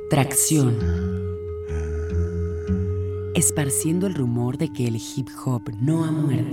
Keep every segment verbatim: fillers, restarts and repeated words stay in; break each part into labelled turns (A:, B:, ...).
A: Tracción. Esparciendo el rumor de que el hip hop no ha muerto.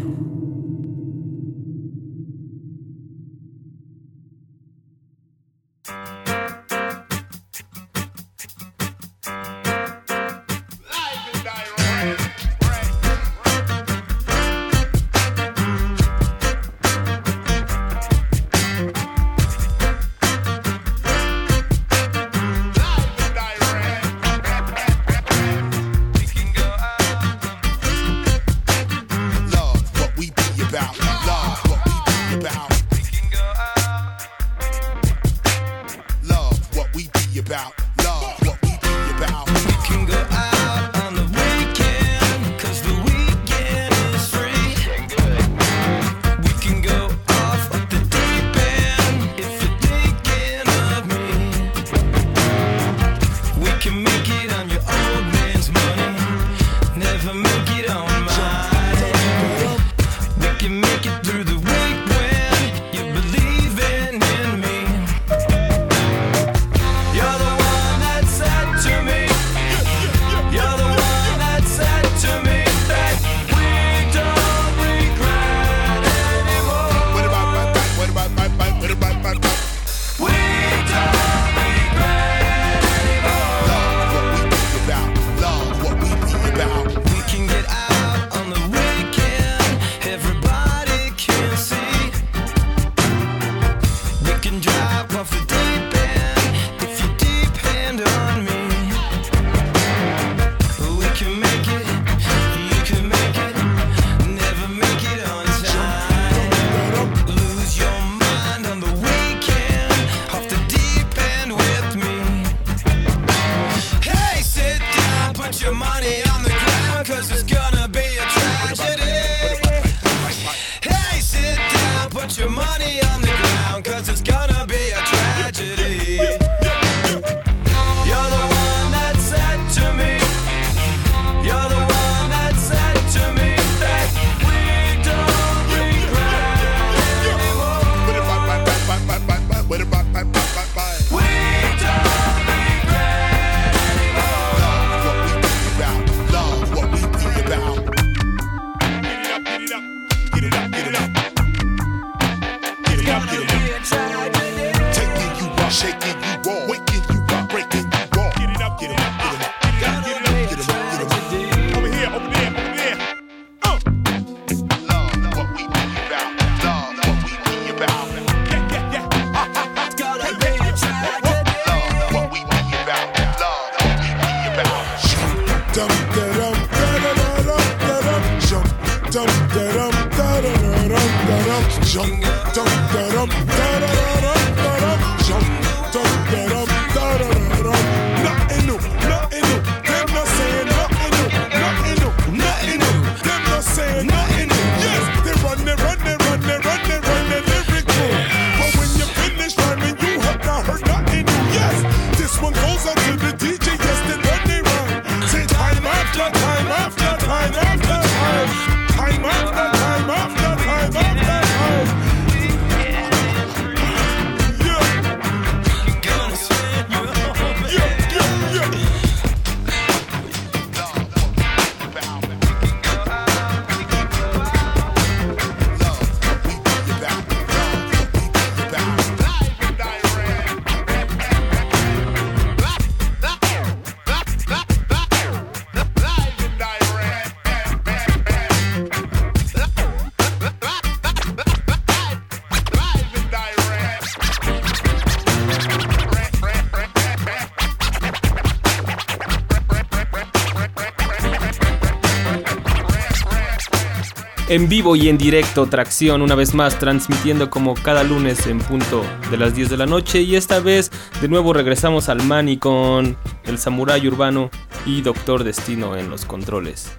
B: En vivo y en directo, Tracción, una vez más transmitiendo como cada lunes en punto de las diez de la noche. Y esta vez de nuevo regresamos al Mani con el Samurái Urbano y Doctor Destino en los controles.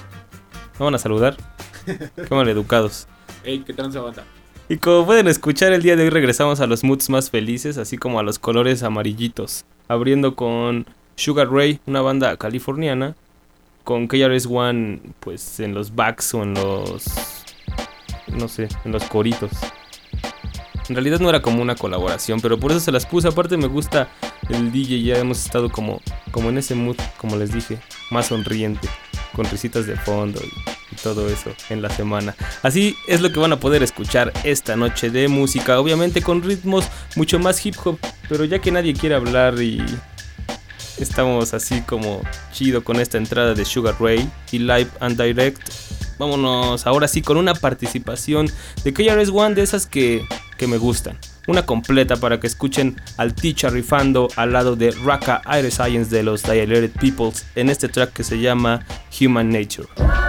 B: ¿Me van a saludar? Qué maleducados.
C: Ey, ¿qué tranza banda?
B: Y como pueden escuchar, el día de hoy regresamos a los moods más felices, así como a los colores amarillitos. Abriendo con Sugar Ray, una banda californiana, con K R S One pues en los backs o en los, no sé, en los coritos. En realidad no era como una colaboración, pero por eso se las puse. Aparte me gusta el D J ya hemos estado como, como en ese mood, como les dije, más sonriente, con risitas de fondo y, y todo eso en la semana. Así es lo que van a poder escuchar esta noche de música, obviamente con ritmos mucho más hip hop, pero ya que nadie quiere hablar y estamos así como chido con esta entrada de Sugar Ray y Live and Direct, vámonos ahora sí con una participación de K R S One de esas que, que me gustan. Una completa para que escuchen al Teacher rifando al lado de Raka Aire Science de los Dilated Peoples en este track que se llama Human Nature.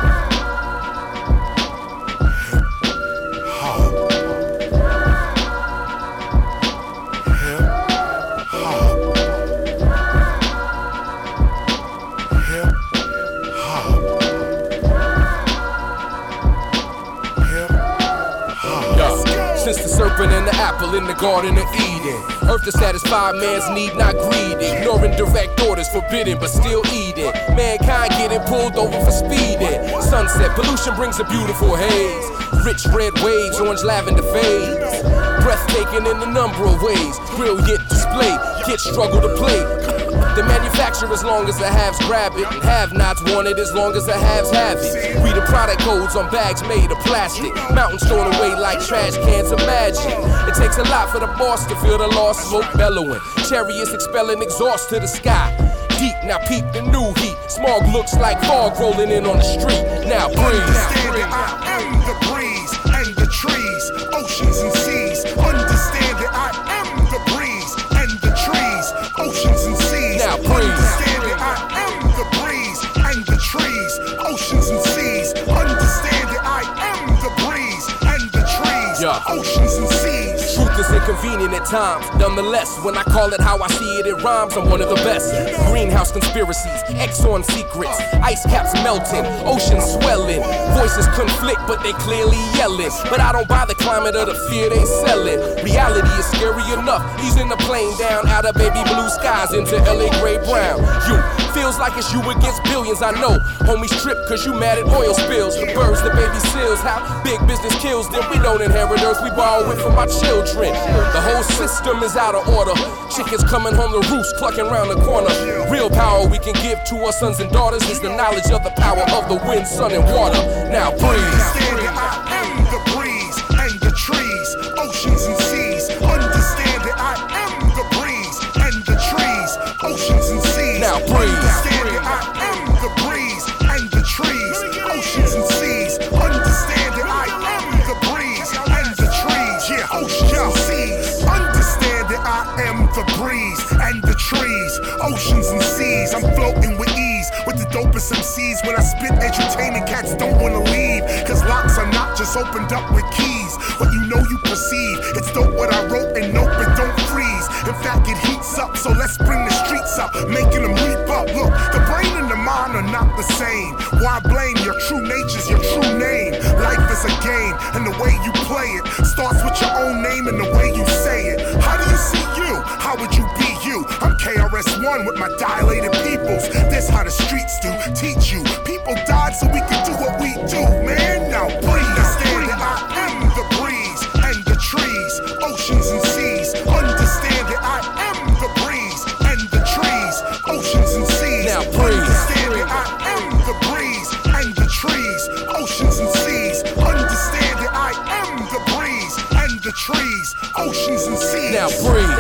C: Since the serpent and the apple in the Garden of Eden, earth to satisfy man's need, not greed. Ignoring direct orders, forbidden but still eating. Mankind getting pulled over for speeding. Sunset pollution brings a beautiful haze. Rich red waves, orange lavender fades. Breathtaking in a number of ways. Brilliant display, kids struggle to play. The manufacturer as long as the haves grab it, and have-nots want it as long as the haves have it. Read the product codes on bags made of plastic. Mountains thrown away like trash cans of magic. It takes a lot for the boss to feel the lost smoke bellowing. Chariots expelling exhaust to the sky. Deep, now peep the new heat. Smog looks like fog rolling in on the street. Now breathe.
D: Understand that I am the breeze and the trees, oceans and seas. Understand that I am the breeze and the trees, oceans and seas.
C: Now breathe.
D: Understand that I am the breeze and the trees, oceans and seas. Understand that I am the breeze and the trees,
C: yeah.
D: Oceans and seas.
C: Truth is inconvenient at times. Nonetheless, when I call it how I see it, it rhymes. I'm one of the best. Greenhouse conspiracies, Exxon secrets, ice caps melting, oceans swelling. Voices conflict, but they clearly yelling. But I don't buy the climate of the fear they selling. Reality is scary enough. Easing the plane down out of baby blue skies into L A gray brown. You feels like it's you against billions. I know homies trip cause you mad at oil spills. The birds, the baby seals, how big business kills them. We don't inherit earth, we borrow it from our children. The whole system is out of order. Chickens coming home to roost, clucking round the corner. Real power we can give to our sons and daughters is the knowledge of the power of the wind, sun, and water. Now breathe.
D: Understand that I am the breeze and the trees, oceans and seas. Understand that I am the breeze and the trees, oceans and seas.
C: Now breathe.
D: Understand that I am the breeze and the trees, oceans and seas. Understand that I am the breeze and the trees, yeah, oceans and seas. Understand that I am the breeze and the trees, oceans and seas. I'm floating with ease with the dopest M Cs. When I spit entertaining, cats don't wanna leave. Cause locks are not just opened up with keys. What you know you perceive. It's dope what I wrote and nope, it don't freeze. In fact, it heats up, so let's bring the streets up, making them leap up. Look, the brain and the mind are not the same. Why blame your true nature's your true name? Life is a game, and the way you play it starts with your own name and the way you say it. How do you see you? How would you be you? I'm K R S One with my dilated peoples. This how the streets do, teach you. People died so we can do what we do, man. Now breathe. Understand that I am the breeze and the trees, oceans and seas. Understand that I am the breeze and the trees, oceans and seas.
C: Now breathe.
D: Understand that I am the breeze and the trees, oceans and seas. Understand that I am the breeze and the trees, oceans and seas.
C: Now breathe.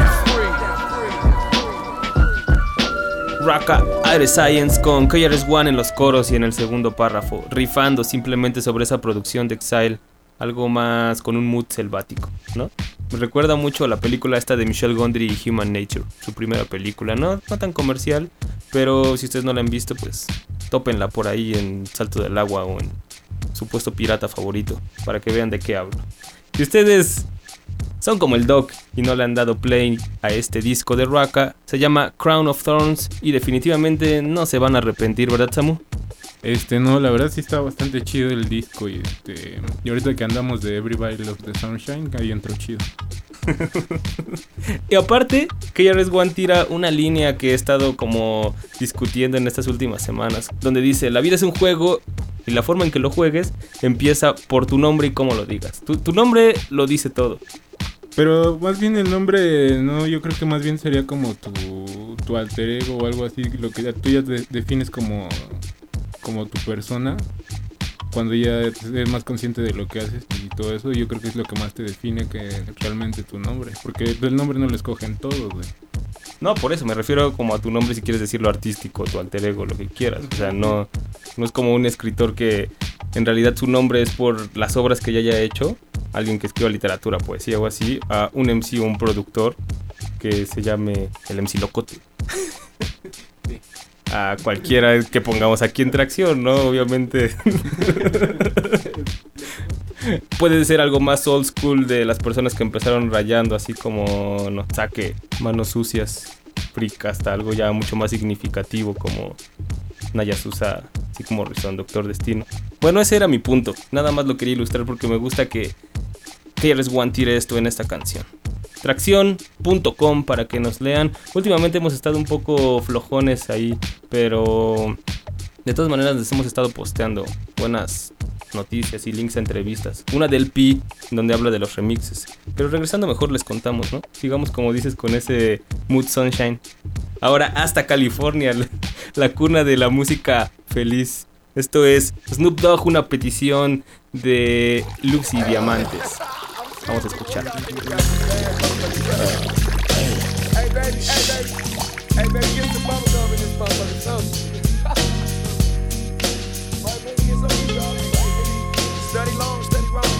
B: Raka Aire Science con K R S One en los coros y en el segundo párrafo, rifando simplemente sobre esa producción de Exile, algo más con un mood selvático, ¿no? Me recuerda mucho a la película esta de Michel Gondry y Human Nature, su primera película, no, no tan comercial, pero si ustedes no la han visto, pues tópenla por ahí en Salto del Agua o en su puesto pirata favorito, para que vean de qué hablo. Si ustedes son como el Doc y no le han dado play a este disco de Raka, se llama Crown of Thorns y definitivamente no se van a arrepentir, ¿verdad, Samu?
E: Este, no, la verdad sí está bastante chido el disco y este, y ahorita que andamos de Everybody Loves the Sunshine, ahí entró chido.
B: Y aparte, K R S One tira una línea que he estado como discutiendo en estas últimas semanas, donde dice, la vida es un juego y la forma en que lo juegues empieza por tu nombre y cómo lo digas. Tu, tu nombre lo dice todo.
E: Pero más bien el nombre, no, yo creo que más bien sería como tu, tu alter ego o algo así, lo que ya, tú ya te defines como, como tu persona, cuando ya eres más consciente de lo que haces y todo eso, yo creo que es lo que más te define que realmente tu nombre, porque el nombre no lo escogen todos, güey.
B: No, por eso me refiero como a tu nombre, si quieres decirlo artístico, tu alter ego, lo que quieras. O sea, no, no es como un escritor que en realidad su nombre es por las obras que ya haya hecho, alguien que escriba literatura, poesía o así, a un M C o un productor que se llame el M C Locote. A cualquiera que pongamos aquí en Tracción, ¿no? Obviamente. Puede ser algo más old school de las personas que empezaron rayando, así como no, Saque, Manos Sucias, Frick, hasta algo ya mucho más significativo como Nayasusa, así como Rizón, Doctor Destino. Bueno, ese era mi punto. Nada más lo quería ilustrar porque me gusta que K R S One tire esto en esta canción. Tracción punto com para que nos lean. Últimamente hemos estado un poco flojones ahí, pero de todas maneras les hemos estado posteando buenas noticias y links a entrevistas. Una del P donde habla de los remixes. Pero regresando mejor les contamos, ¿no? Sigamos como dices con ese Mood Sunshine. Ahora hasta California, la, la cuna de la música feliz. Esto es Snoop Dogg, una petición de Lux y Diamantes. Vamos a escuchar.
C: Hey baby, hey baby, hey baby, get some bubble gum in this motherfucker, something. Right, baby, get some of y'all. Study long, study wrong,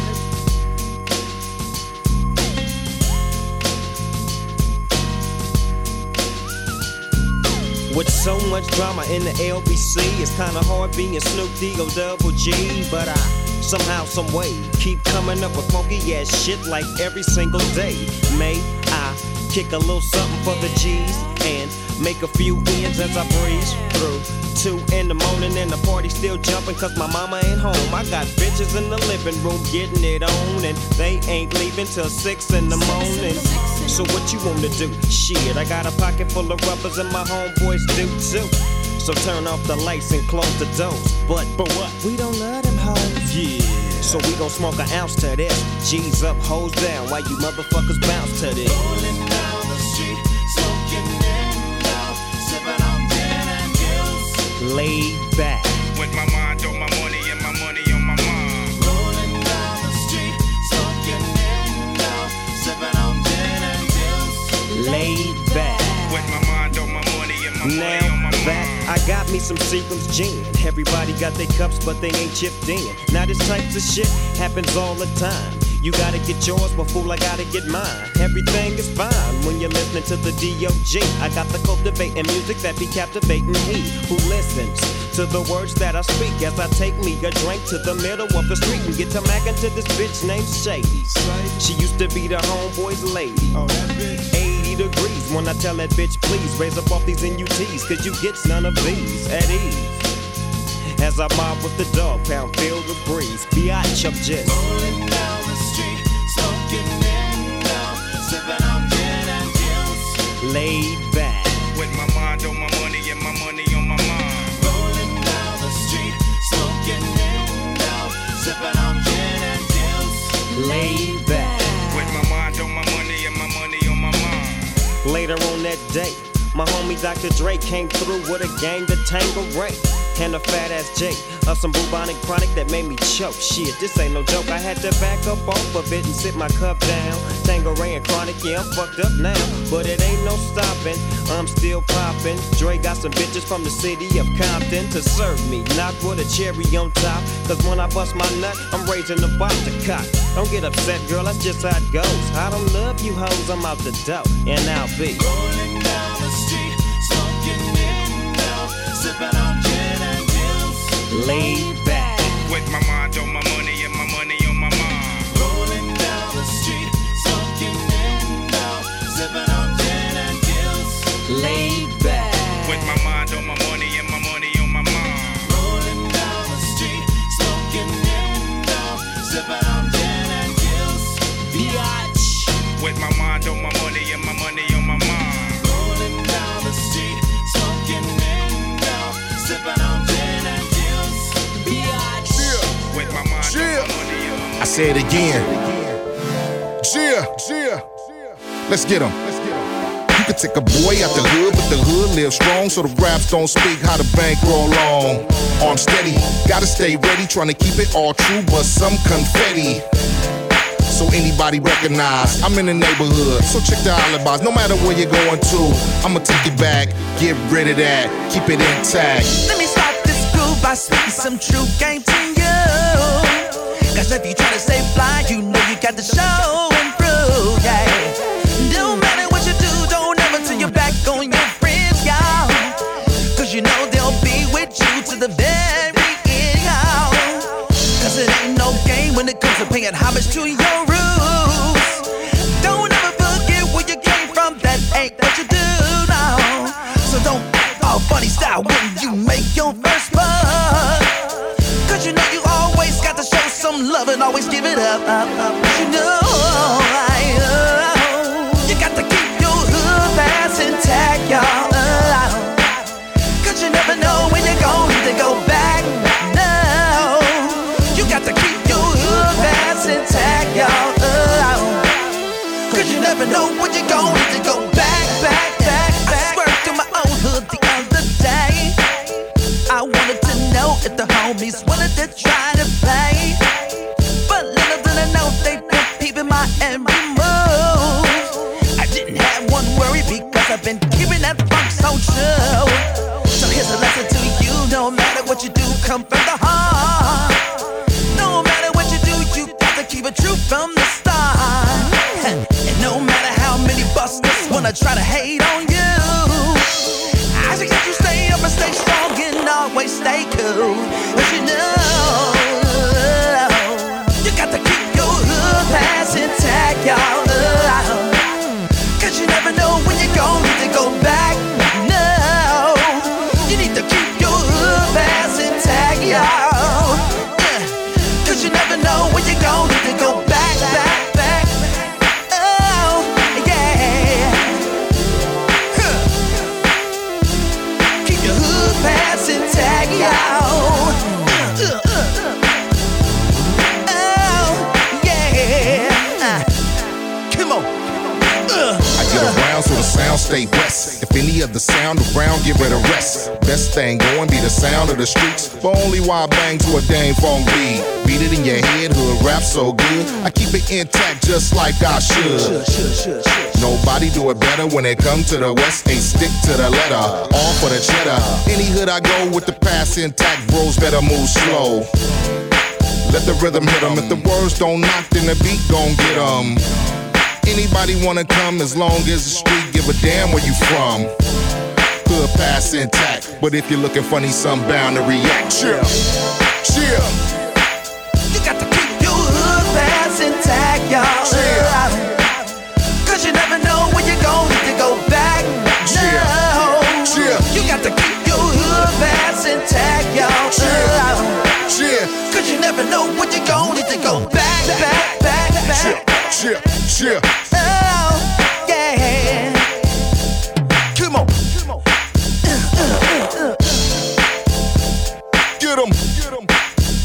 F: With so much drama in the L B C, it's kinda hard being Snoop D O double G, but I somehow, some way keep coming up with funky ass shit like every single day. May I kick a little something for the G's and make a few ends as I breeze through. Two in the morning and the party still jumping cause my mama ain't home. I got bitches in the living room getting it on and they ain't leaving till six in the morning. So what you wanna do? Shit, I got a pocket full of rubbers and my homeboys do too. So turn off the lights and close the doors. But, but what? We don't love them hoes. Yeah. So we gon' smoke an ounce to this. G's up, hoes down, while you motherfuckers bounce to this.
G: Rolling down the street, smoking in now, sipping on gin and juice.
F: Laid back.
H: With my mind on my money and my money on my mind.
G: Rolling down the street, smoking in now, sipping on gin and juice.
F: Laid back.
H: With my mind on my money and my money
F: Now
H: on my
F: that
H: mind.
F: I got me some Seagram's gin. Everybody got their cups, but they ain't chipped in. Now this types of shit happens all the time. You gotta get yours, but fool, I gotta get mine. Everything is fine when you're listening to the D O G. I got the cultivating music that be captivating he who listens to the words that I speak as I take me a drink to the middle of the street and get to mackin' to this bitch named Shady. She used to be the homeboy's lady. eighty degrees when I tell that bitch, please raise up off these N U Ts, cause you get none of these at ease. As I mob with the dog pound, feel the breeze. Biatch, I'm just
G: Rolling down the street, smoking in now, sipping on gin and juice.
F: laid back.
H: With my mind on my money and my money on my mind.
G: Rolling down the street, smoking in now, sipping on gin and juice.
F: Laid back.
H: With my mind on my money and my money on my mind.
F: Later on that day, my homie Doctor Dre came through with a gang to Tangeray and a fat ass J of some bubonic chronic that made me choke. Shit, this ain't no joke. I had to back up off of it and sit my cup down. Tangeray and chronic, yeah, I'm fucked up now, but it ain't no stopping. I'm still popping. Dre got some bitches from the city of Compton to serve me, not with a cherry on top. Cause when I bust my nut, I'm raising the bar to cock. Don't get upset, girl, that's just how it goes. I don't love you hoes, I'm out the dough, and I'll be
G: Rolling down the street, smoking in now, sipping on gin and juice.
F: laid back.
H: With my mind on my money and my money on my mind.
G: Rolling down the street, smoking in now, sipping on gin and juice.
F: Laid back.
H: With my mind on my money and my money on my mind.
G: Rolling down the street, smoking in now, sipping on gin and juice. Biatch.
H: With my mind on my money and my money on my mind.
G: Rolling down the street, smoking in now, sipping on gin and juice. Biatch.
H: With my mind on my money and my money.
D: I say it again. Yeah, yeah. Let's get 'em. You can take a boy out the hood, but the hood lives strong, so the raps don't speak how the bank roll long. Arm steady, gotta stay ready, trying to keep it all true, but some confetti. So anybody recognize I'm in the neighborhood, so check the alibis. No matter where you're going to, I'ma take it back, get rid of that, keep it intact.
G: Let me start this groove by spitting some true game to you. Cause if you try to stay fly, you know you got to show and prove, yeah. No matter what you do, don't ever turn your back on your friends, y'all. Cause you know they'll be with you to the very end, y'all. Cause it ain't no game when it comes to paying homage to your roots. Don't ever forget where you came from, that ain't what you do now. So don't act all funny style when you make your first buck. Cause you know you always got to show some love and always give it up, up, up. You know, I, uh, you got to keep your hood pass intact, y'all. Uh, Cause you never know when you're going to go back. No, you got to keep your hood pass intact, y'all. Uh, Cause you never know when you're going to go back, back, back, back. I swear to my own hood the other day, I wanted to know if the homies wanted to try to play. But little did I know they been peeping my every move. I didn't have one worry because I've been keeping that funk so true. So here's a lesson to you, no matter what you do, come from the heart. No matter what you do, you got to keep it true from the start. And no matter how many busters wanna try to hate on you, I suggest you stay up and stay strong and always stay cool. Cause you know, you got to keep your hood pass intact, y'all. Cause you never know when you're going to go back. No, you need to keep your hood pass intact, y'all. Cause you never know when you're going to go back, back, back. Oh, yeah. Huh. Keep your hood pass intact, y'all. Uh, uh, uh. Oh, yeah. Uh. Come on. Uh.
D: I get around so the sound stay west. If any other sound around, give it a rest. Best thing going be the sound of the streets, but only while I bang to a dang funk beat. Beat it in your head, hood rap so good, I keep it intact just like I should. Nobody do it better when it come to the west. They stick to the letter, all for the cheddar. Any hood I go with the pass intact, bros better move slow. Let the rhythm hit 'em. If the words don't knock, then the beat gon' get 'em. Anybody wanna come as long as the street give a damn where you from. Hood pass intact, but if you're looking funny, some bound to react. Chill, chill.
G: You got to keep your hood pass intact, y'all. Chill. Cause you never know when you're going to go back.
D: Chill,
G: no.
D: chill.
G: You got to keep your hood pass intact, y'all.
D: Chill, chill.
G: Cause you never know when you're going to go back, back, back, back.
D: Chill, chill.
G: Oh, yeah. Come on.
D: Get 'em, get 'em.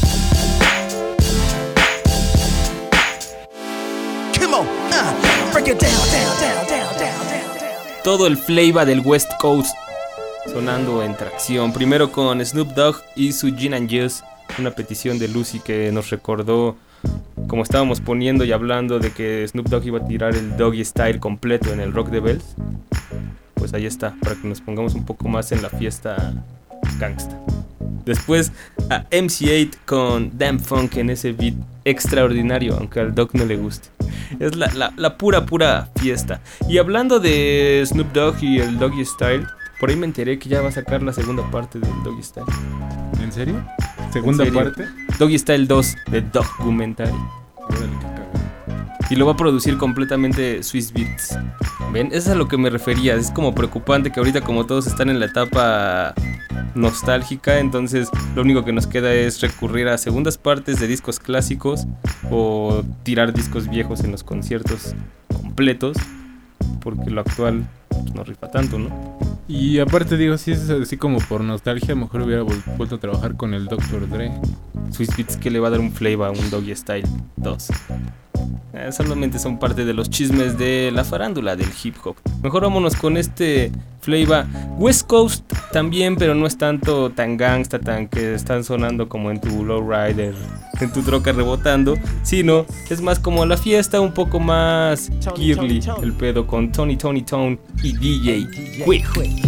G: Come on. Uh, break it down, down, down, down, down, down.
B: Todo el flavor del West Coast sonando en tracción. Primero con Snoop Dogg y su Gin and Juice, una petición de Lucy que nos recordó, como estábamos poniendo y hablando de que Snoop Dogg iba a tirar el Doggy Style completo en el Rock the Bells. Pues ahí está, para que nos pongamos un poco más en la fiesta gangsta. Después a M C eight con Damn Funk en ese beat extraordinario, aunque al Dogg no le guste. Es la, la, la pura, pura fiesta. Y hablando de Snoop Dogg y el Doggy Style, por ahí me enteré que ya va a sacar la segunda parte del Doggy Style.
E: ¿En serio? ¿Segunda
B: ¿En serio?
E: parte?
B: Doggy Style dos de Documentary.
E: Órale, qué cagado.
B: Y lo va a producir completamente Swizz Beatz. ¿Ven? Eso es a lo que me refería. Es como preocupante que ahorita, como todos están en la etapa nostálgica, entonces lo único que nos queda es recurrir a segundas partes de discos clásicos o tirar discos viejos en los conciertos completos, porque lo actual pues, no rifa tanto, ¿no?
E: Y aparte digo, si es así como por nostalgia, mejor hubiera vol- vuelto a trabajar con el doctor Dre.
B: Swizz Beatz que le va a dar un flavor a un Doggy Style dos. eh, solamente son parte de los chismes de la farándula del hip hop. Mejor vámonos con este flavor West Coast también, pero no es tanto tan gangsta, tan que están sonando como en tu lowrider, en tu troca rebotando, sino es más como la fiesta, un poco más girly el pedo con Tony Tony Tone y D J Quick.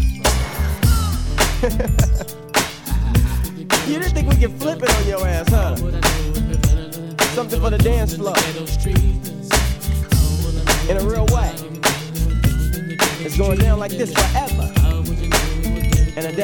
I: You didn't think we could flip it on your ass, huh? Something for the dance floor. In a real way. It's going down like this forever and a day.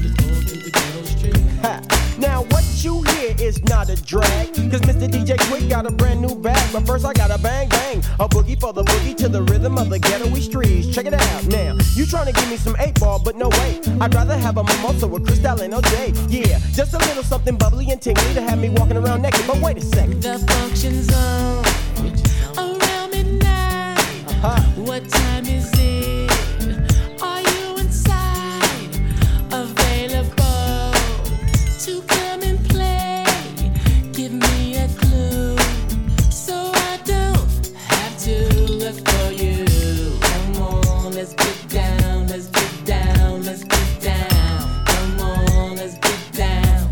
I: Ha. Now what you hear is not a drag, cause Mister D J Quick got a brand new bag. But first I gotta bang bang, a boogie for the boogie to the rhythm of the ghetto-y streets. Check it out now, you tryna give me some eight ball, but no way. I'd rather have a mimosa with Cristal and O J. Yeah, just a little something bubbly and tingly to have me walking around naked. But wait a second,
J: the function's on around midnight. Uh-huh. What time is it? Are you inside? Available to come and play? Give me a clue so I don't have to look for you. Come on, let's get down, let's get down, let's get down. Come on, let's get down.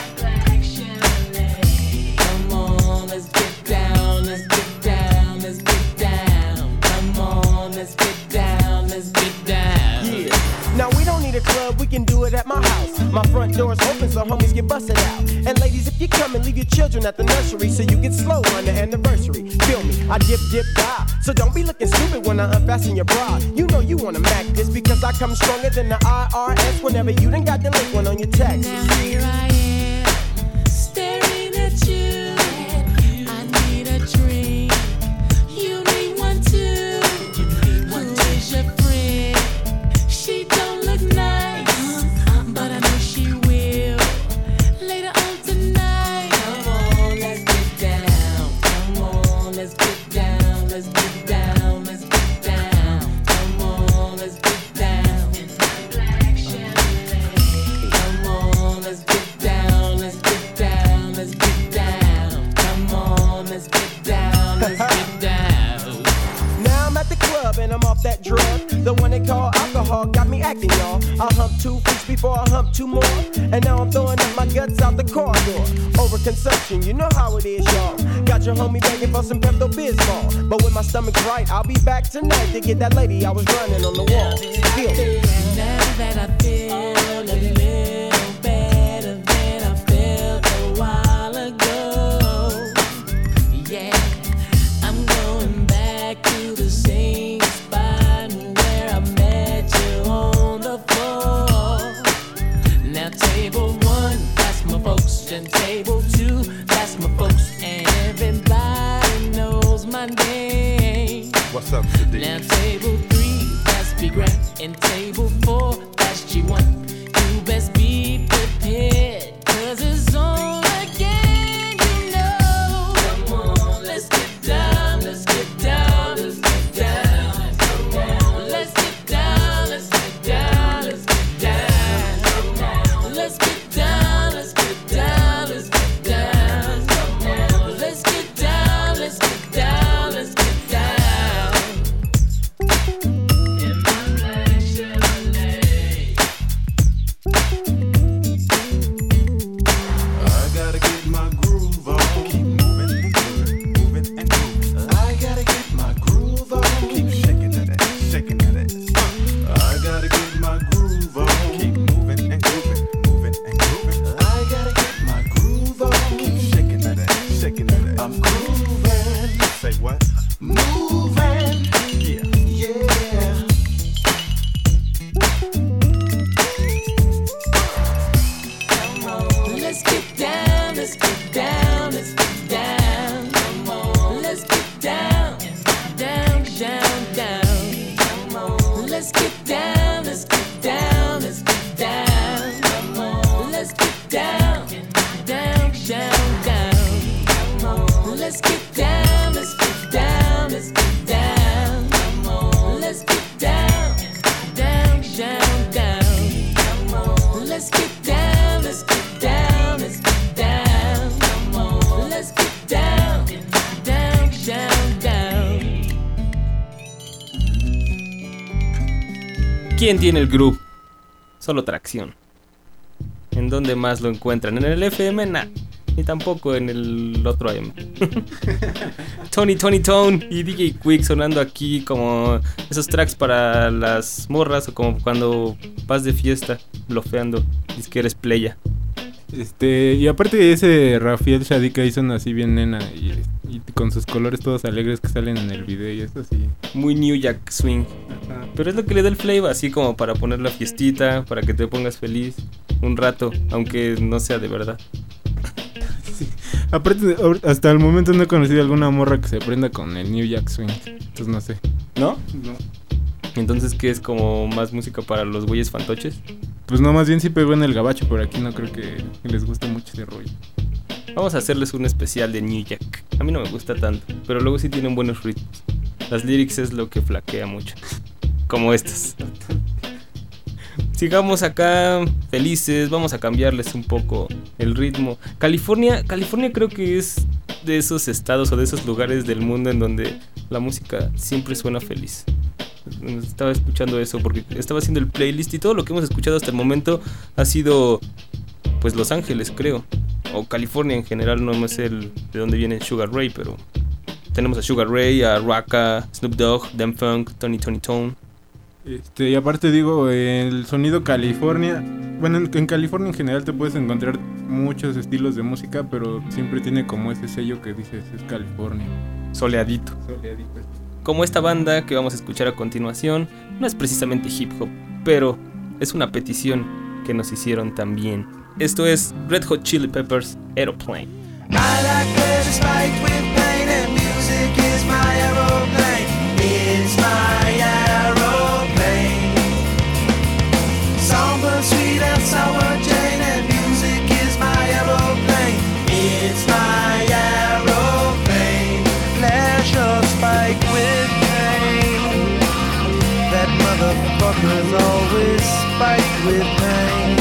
J: Come on, let's get down, let's get down, let's get down. Come on, let's get down, let's get down.
I: yeah. Now we don't need a club, we can do it at my house. My front door's open so homies get busted out. And ladies, if you come and leave your children at the nursery so you get slow on the anniversary. Feel me, I dip, dip, die. So don't be looking stupid when I unfasten your bra. You know you wanna mac this because I come stronger than the I R S whenever you done got delinquent on your taxes.
J: Now here I am, staring at you. I need a drink. You need one too. Who is your friend? She don't look nice, but I know she will later on tonight. Come on, let's get down. Come on, let's get down. Let's get down. Let's get down. Come on, let's get down. Come on, let's get down. Let's get down. Let's get down. Come on, let's get down. Let's get down.
I: Now I'm at the club and I'm off that drug. The one they call alcohol got me acting, y'all. I humped two freaks before I humped two more. And now I'm throwing up my guts out the corridor. Overconsumption, you know how it is, y'all. Got your homie begging for some Pepto-Bismol. But when my stomach's right, I'll be back tonight to get that lady I was running on the wall. Feel me.
J: Now that I feel a little better than I felt a while ago. Yeah, I'm going back to the same spot where I met you on the floor. Now table one, that's my folks, and table two, that's my folks, and everybody knows my name.
D: What's up, Sadiq?
J: Now table three, that's Big Rat, and table four, that's G one. You best be prepared, cause it's on again, you know. Come on, let's get down, let's get down, let's get down. Come on, let's get down, let's get down, let's get down. Come on, let's get down, let's get down, let's get down. Come on, let's get down, let's get down, let's get down. In my black Chevrolet.
D: I gotta get my groove on. Keep moving and grooving, moving and grooving. I gotta get my groove on. Keep shaking that ass, shaking that ass. I gotta get my groove on. Keep moving and grooving, moving and grooving. I gotta get my groove on. Keep shaking that ass, shaking that ass. I'm grooving. Say what? Moving. Yeah. Yeah.
J: Let's get down, let's get down, let's get down. Come on, let's get down, down, down, down. Come on, let's get down, let's get down, let's get down. Come on, let's get down, down, down, down. Come on, let's get down, let's get down, let's get down. Come on, let's get down, down, down, down. Come on, let's get down, let's get down, let's get down. Come on, let's get down, down, down.
B: ¿Quién tiene el groove? Solo Tracción. ¿En dónde más lo encuentran? ¿En el F M? Nah, ni tampoco en el otro A M. Tony, Tony Tone y D J Quick sonando aquí como esos tracks para las morras o como cuando vas de fiesta blofeando, dices que eres playa.
E: Este, y aparte de ese Rafael Shadika hizo una así bien nena y, y con sus colores todos alegres que salen en el video y eso así.
B: Muy New Jack Swing. Ajá. Pero es lo que le da el flavor, así como para poner la fiestita, para que te pongas feliz un rato, aunque no sea de verdad.
E: Sí. Aparte, hasta el momento no he conocido alguna morra que se prenda con el New Jack Swing. Entonces no sé.
B: ¿No?
E: No.
B: Entonces, ¿qué es como más música para los güeyes fantoches?
E: Pues no, más bien sí pegó en el gabacho, pero aquí no creo que les guste mucho ese rollo.
B: Vamos a hacerles un especial de New Jack. A mí no me gusta tanto, pero luego sí tienen buenos ritmos. Las lyrics es lo que flaquea mucho. Como estas. Sigamos acá felices, vamos a cambiarles un poco el ritmo. California, California creo que es de esos estados o de esos lugares del mundo en donde la música siempre suena feliz. Estaba escuchando eso porque estaba haciendo el playlist y todo lo que hemos escuchado hasta el momento ha sido pues Los Ángeles, creo, o California en general. No sé el, de dónde viene Sugar Ray, pero tenemos a Sugar Ray, a Raka, Snoop Dogg, Dem Funk, Tony Tony Tone.
E: Este, y aparte digo, el sonido California, bueno, en, en California en general te puedes encontrar muchos estilos de música, pero siempre tiene como ese sello que dices es California.
B: Soleadito.
E: Soleadito.
B: Como esta banda que vamos a escuchar a continuación, no es precisamente hip hop, pero es una petición que nos hicieron también. Esto es Red Hot Chili Peppers, Aeroplane.
G: I like pleasure spiked with pain and music is my aeroplane. It's my aeroplane. Songbird sweet and sour Jane and music is my aeroplane. It's my aeroplane. Pleasure spiked with pain. That motherfucker's always spiked with pain.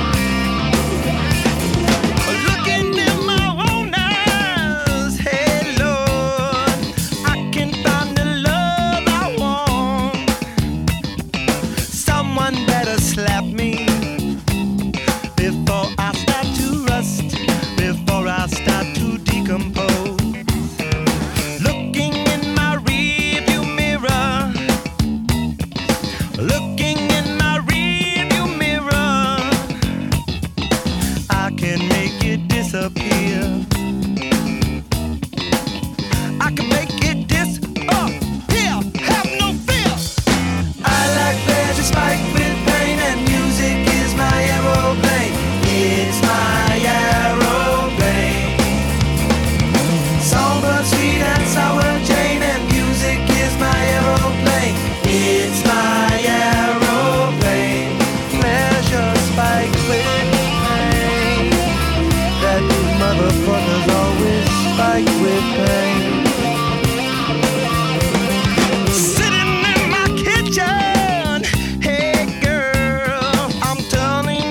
G: Slap me before I start to rust, before I start to decompose. Looking in my rearview mirror, looking in my rearview mirror, I can make it disappear. I can make it disappear. Have no fear. I like pleasure spiked with aeroplane, it's my aeroplane. Songbird sweet and sour Jane and music is my aeroplane. It's my aeroplane. Pleasure spiked with pain. That motherfucker's always spiked with pain. Sitting in my kitchen, hey girl, I'm turning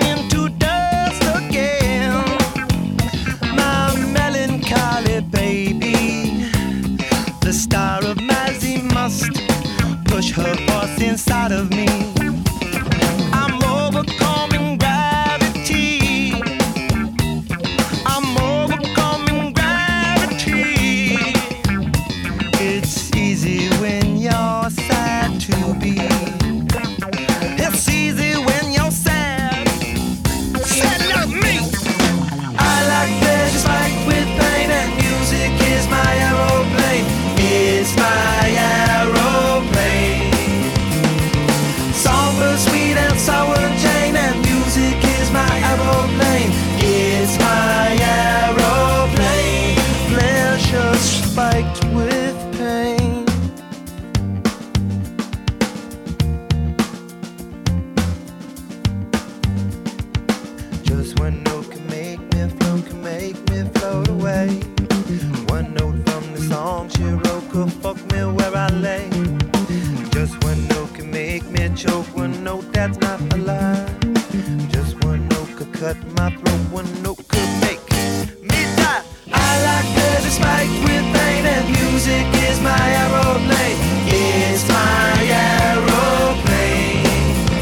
G: baby, the star of Mazzy must push her force inside of me. I'm overcoming gravity. I'm overcoming gravity. It's easy when you're sad to be. It's easy when you're sad. Sad like me. I like pleasure spiked with pain and music is my aeroplane. It's my aeroplane. Songbird sweet and sour Jane and music is my aeroplane. It's my aeroplane. Pleasure spiked with pain. Just one note can make me float, can make me float away. One note from the song she wrote could fuck me where I lay. Just one note can make me choke, one note that's not a lie. Just one note could cut my throat, one note could make me die. I like pleasure spiked with pain and music is my aeroplane. It's my aeroplane.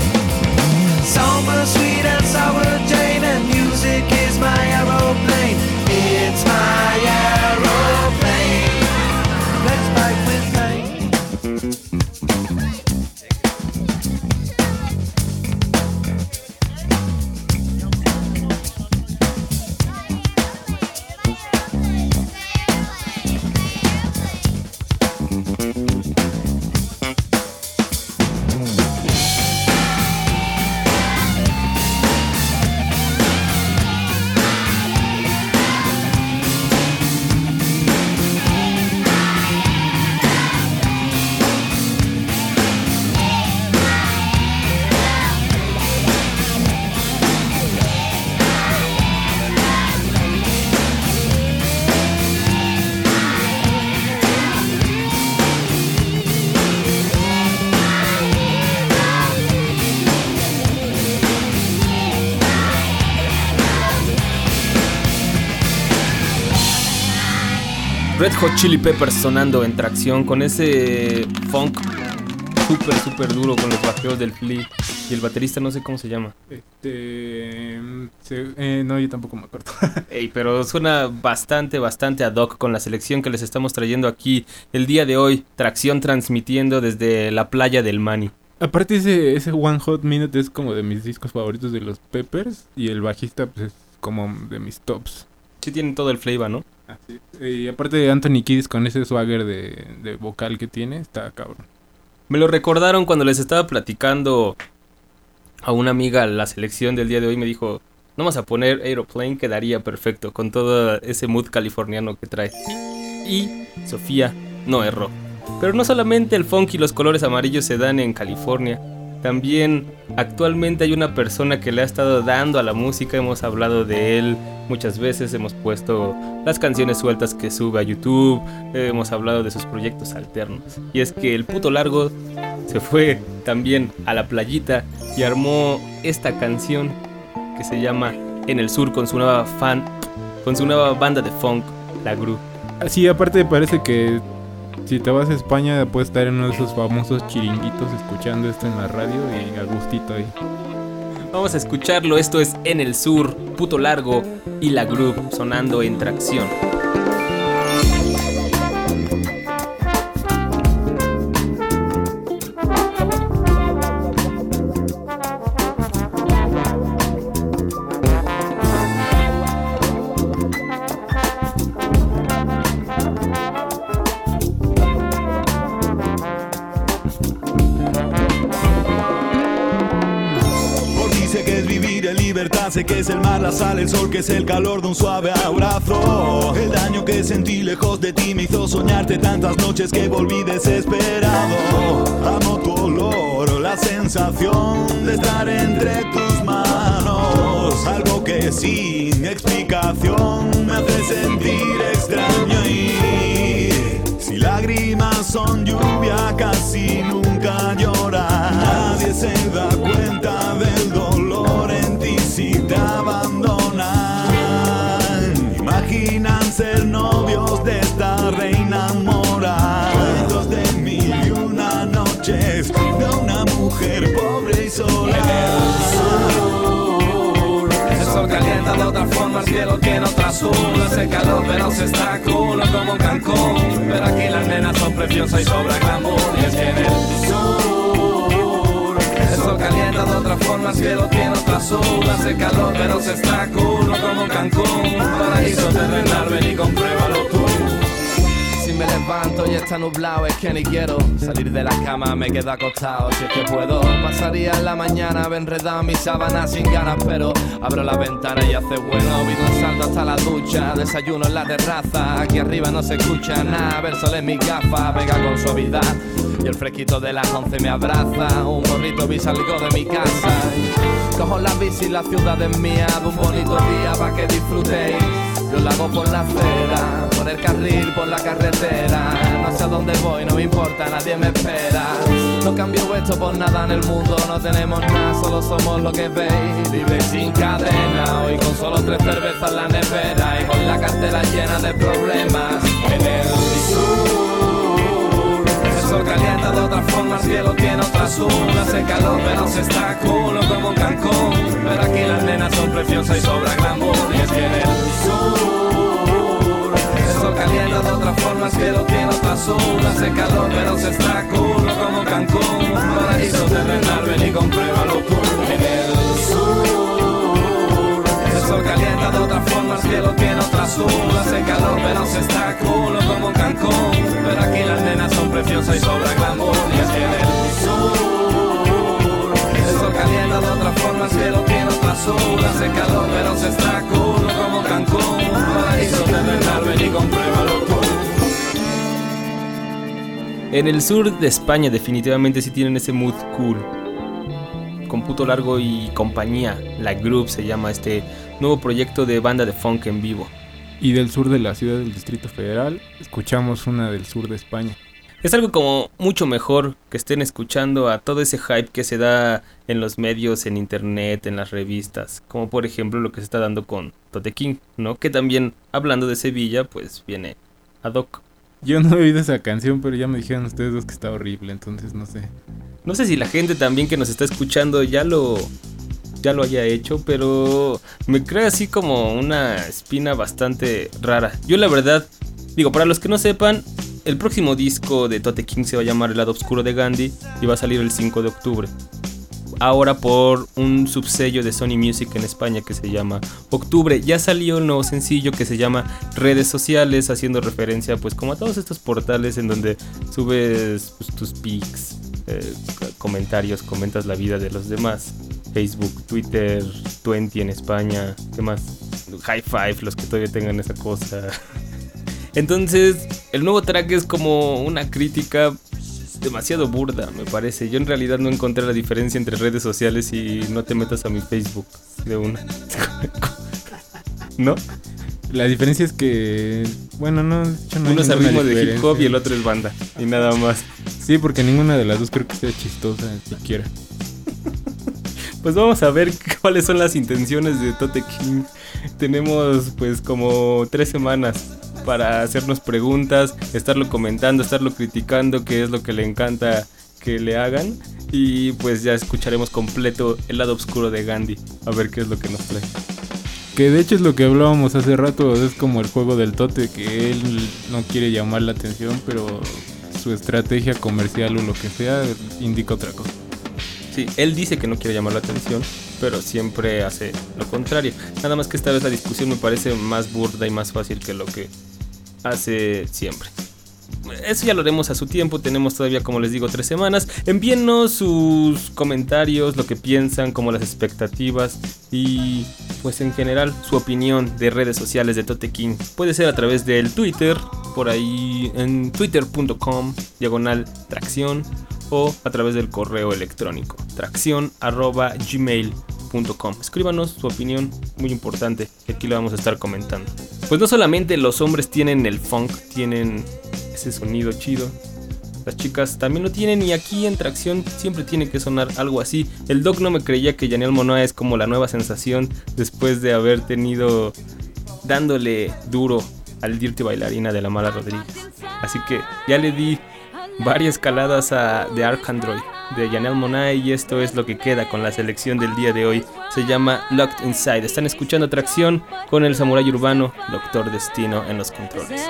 B: Red Hot Chili Peppers sonando en tracción con ese funk súper, súper duro con los bajeos del Flea. Y el baterista no sé cómo se llama.
E: Este... Se, eh, no, yo tampoco me acuerdo.
B: Ey, pero suena bastante, bastante ad hoc con la selección que les estamos trayendo aquí el día de hoy. Tracción transmitiendo desde la playa del Mani.
E: Aparte ese, ese One Hot Minute es como de mis discos favoritos de los Peppers. Y el bajista pues es como de mis tops.
B: Sí tienen todo el flavor, ¿no?
E: Así. Y aparte de Anthony Kiedis con ese swagger de, de vocal que tiene, está cabrón.
B: Me lo recordaron cuando les estaba platicando a una amiga la selección del día de hoy. Me dijo, no vas a poner Aeroplane, quedaría perfecto con todo ese mood californiano que trae. Y Sofía no erró. Pero no solamente el funk y los colores amarillos se dan en California. También actualmente hay una persona que le ha estado dando a la música. Hemos hablado de él muchas veces. Hemos puesto las canciones sueltas que sube a YouTube. Hemos hablado de sus proyectos alternos. Y es que el puto largo se fue también a la playita y armó esta canción que se llama En el Sur con su nueva fan, con su nueva banda de funk, La Gru.
E: Sí, aparte parece que si te vas a España puedes estar en uno de esos famosos chiringuitos escuchando esto en la radio y a gustito ahí.
B: Vamos a escucharlo, esto es En el Sur, Puto Largo y La Gru sonando en tracción.
K: Sé que es el mar, la sal, el sol, que es el calor de un suave abrazo. El daño que sentí lejos de ti me hizo soñarte tantas noches que volví desesperado. Amo tu olor, la sensación de estar entre tus manos. Algo que sin explicación me hace sentir extraño. Y si lágrimas son lluvia, casi nunca lloras. Nadie se da cuenta del dolor en ti si te abandonan. Imaginan ser novios de esta reina mora. Cuentos de mil y una noches de una mujer pobre y sola.
L: El sol calienta de otra forma, el cielo tiene otra azul. Hace calor pero se está cool como Cancún. Pero aquí las nenas son preciosas y sobra glamour. Y es que en el sur el sol calienta de otra forma, el cielo tiene otra azul. Hace calor pero se está cool como Cancún. Paraíso terrenal, ven y compruébalo tú. Si me levanto y está nublado es que ni quiero salir de la cama, me quedo acostado. Si es que puedo, pasaría la mañana enredado en mis sábanas sin ganas. Pero abro la ventana y hace bueno. Vivo un salto hasta la ducha, desayuno en la terraza. Aquí arriba no se escucha nada, ver sol en mis gafas, pega con suavidad. Y el fresquito de las once me abraza. Un morrito vi salgo de mi casa. Cojo la bici, la ciudad es mía. De un bonito día pa' que disfrutéis. Yo la hago por la acera, por el carril, por la carretera. No sé a dónde voy, no me importa, nadie me espera. No cambio esto por nada en el mundo. No tenemos nada, solo somos lo que veis. Libre y sin cadena, hoy con solo tres cervezas en la nevera. Y con la cartera llena de problemas. En el sur el sol calienta de otra forma, el cielo tiene otra azul. Hace calor pero se está cool como Cancún. Pero aquí las nenas son preciosas y sobra glamour. Y es que en el sur el sol calienta de otra forma, el cielo tiene otra azul. Hace calor pero se está cool como Cancún. Paraíso terrenal, ven y compruébalo tú. En el sur el sol calienta de otra forma, el cielo tiene otra azul. Hace calor pero se está cool como Cancún. Pero aquí las nenas son preciosas y sobra glamour. Y es que en el sur el sol calienta de otra forma, el cielo tiene otra azul. Hace calor pero se está cool como Cancún. Paraíso terrenal, ven y compruébalo tú.
B: En el sur de España definitivamente sí tienen ese mood cool. Con Puto Largo y compañía, La Group se llama este nuevo proyecto de banda de funk en vivo.
E: Y del sur de la ciudad del Distrito Federal, escuchamos una del sur de España.
B: Es algo como mucho mejor que estén escuchando a todo ese hype que se da en los medios, en internet, en las revistas. Como por ejemplo lo que se está dando con Tote King, ¿no? Que también, hablando de Sevilla, pues viene ad hoc.
E: Yo no he oído esa canción, pero ya me dijeron ustedes dos que está horrible, entonces no sé.
B: No sé si la gente también que nos está escuchando ya lo ya lo haya hecho, pero me crea así como una espina bastante rara. Yo la verdad, digo, para los que no sepan, el próximo disco de Tote King se va a llamar El lado oscuro de Gandhi y va a salir el cinco de octubre. Ahora por un subsello de Sony Music en España que se llama Octubre. Ya salió el nuevo sencillo que se llama Redes Sociales, haciendo referencia pues como a todos estos portales en donde subes pues, tus pics, eh, comentarios, comentas la vida de los demás. Facebook, Twitter, veinte en España, ¿qué más? High Five, los que todavía tengan esa cosa. Entonces, el nuevo track es como una crítica demasiado burda, me parece. Yo en realidad no encontré la diferencia entre redes sociales y no te metas a mi Facebook de una. ¿No?
E: La diferencia es que, bueno, no, yo no
B: uno es al ritmo de hip hop y el otro es banda, y nada más.
E: Sí, porque ninguna de las dos creo que sea chistosa siquiera.
B: Pues vamos a ver cuáles son las intenciones de Tote King. Tenemos pues como tres semanas para hacernos preguntas, estarlo comentando, estarlo criticando, qué es lo que le encanta que le hagan. Y pues ya escucharemos completo el lado oscuro de Gandhi, a ver qué es lo que nos trae.
E: Que de hecho es lo que hablábamos hace rato, es como el juego del Tote, que él no quiere llamar la atención, pero su estrategia comercial o lo que sea indica otra cosa.
B: Sí, él dice que no quiere llamar la atención, pero siempre hace lo contrario. Nada más que esta vez la discusión me parece más burda y más fácil que lo que hace siempre. Eso ya lo haremos a su tiempo. Tenemos todavía, como les digo, tres semanas. Envíennos sus comentarios, lo que piensan, como las expectativas y pues en general su opinión de redes sociales de Tote King. Puede ser a través del Twitter, por ahí en twitter punto com diagonal tracción, o a través del correo electrónico tracción arroba gmail punto com. Escríbanos su opinión, muy importante, que aquí lo vamos a estar comentando. Pues no solamente los hombres tienen el funk, tienen ese sonido chido, las chicas también lo tienen, y aquí en Tracción siempre tiene que sonar algo así. El Doc no me creía que Janelle Monáe es como la nueva sensación después de haber tenido dándole duro al Dirty Bailarina de la Mala Rodríguez. Así que ya le di varias caladas a The Arcandroid de Janelle Monáe y esto es lo que queda con la selección del día de hoy. Se llama Locked Inside. Están escuchando Tracción con el Samurái Urbano, Doctor Destino en los controles.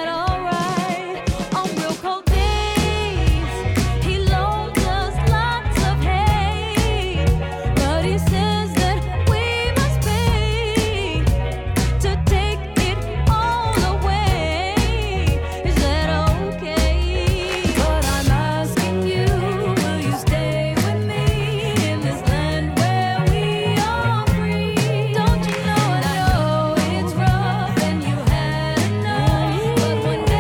J: One day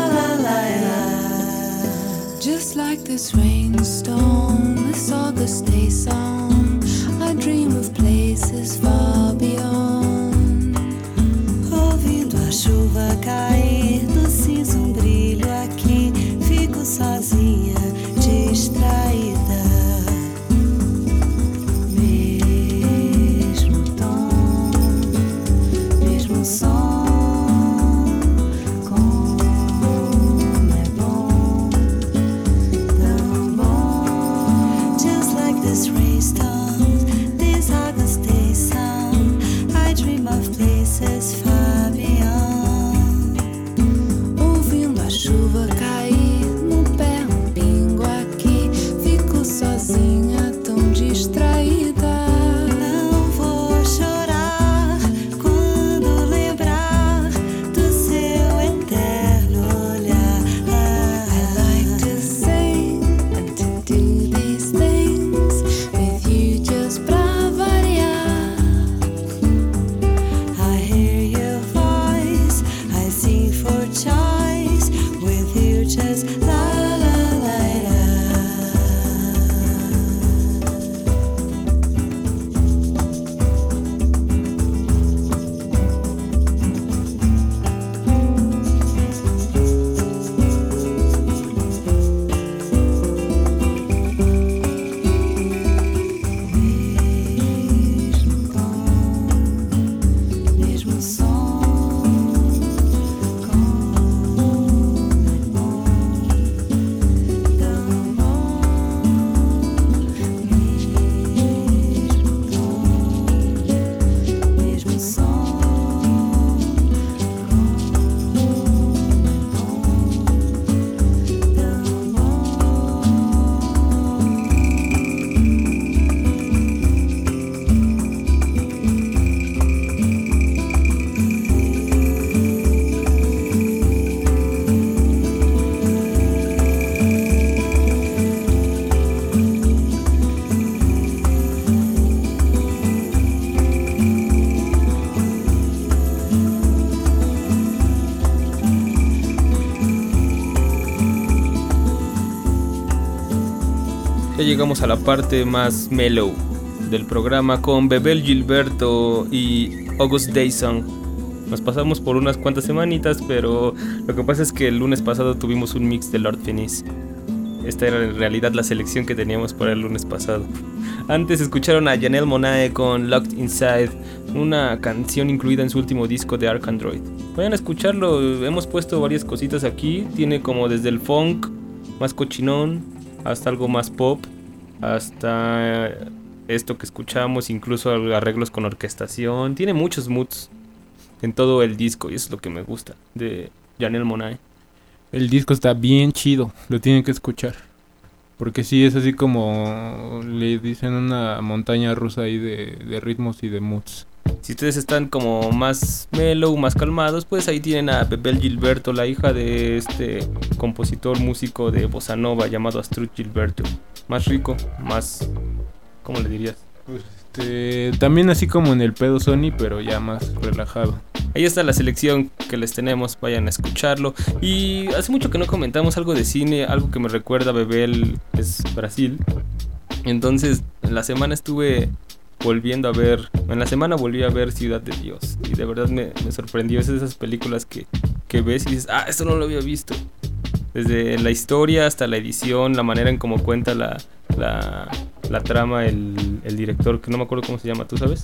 J: Just like this rainstorm, this August day song, I dream of places far beyond.
M: Ouvindo a chuva cair no cinza, um brilho aqui, fico sozinha, distraída. Mesmo tom, mesmo som.
J: Ouvindo a chuva cair no pé, um pingo aqui, fico sozinha, tão distraída.
M: Não vou chorar quando lembrar do seu eterno olhar.
J: I like to sing and to do these things with you just pra variar.
M: I hear your voice, I sing for choice, with you just la la la la. Mesmo tom, mesmo som, como é bom, tão bom. Mesmo tom, mesmo som, como é bom, tão
B: Ya llegamos a la parte más mellow del programa con Bebel Gilberto y August Day Song. Nos pasamos por unas cuantas semanitas, pero lo que pasa es que el lunes pasado tuvimos un mix de Lord Finis. Esta era en realidad la selección que teníamos para el lunes pasado. Antes escucharon a Janelle Monáe con Locked Inside, una canción incluida en su último disco de Ark Android. Vayan a escucharlo, hemos puesto varias cositas aquí. Tiene como desde el funk más cochinón hasta algo más pop, hasta esto que escuchamos, incluso arreglos con orquestación. Tiene muchos moods en todo el disco y eso es lo que me gusta de Janelle Monáe.
E: El disco está bien chido, lo tienen que escuchar. Porque sí, es así como le dicen una montaña rusa ahí de, de ritmos y de moods.
B: Si ustedes están como más mellow, más calmados, pues ahí tienen a Bebel Gilberto, la hija de este compositor músico de bossa nova llamado Astrud Gilberto. Más rico, más... ¿cómo le dirías?
E: Pues este, también así como en el pedo Sony, pero ya más relajado.
B: Ahí está la selección que les tenemos, vayan a escucharlo. Y hace mucho que no comentamos algo de cine, algo que me recuerda a Bebel es Brasil. Entonces, en la semana estuve volviendo a ver, en la semana volví a ver Ciudad de Dios. Y de verdad me, me sorprendió, es de esas películas que, que ves y dices, ah, esto no lo había visto. Desde la historia hasta la edición, la manera en cómo cuenta la, la, la trama, el, el director, que no me acuerdo cómo se llama, ¿tú sabes?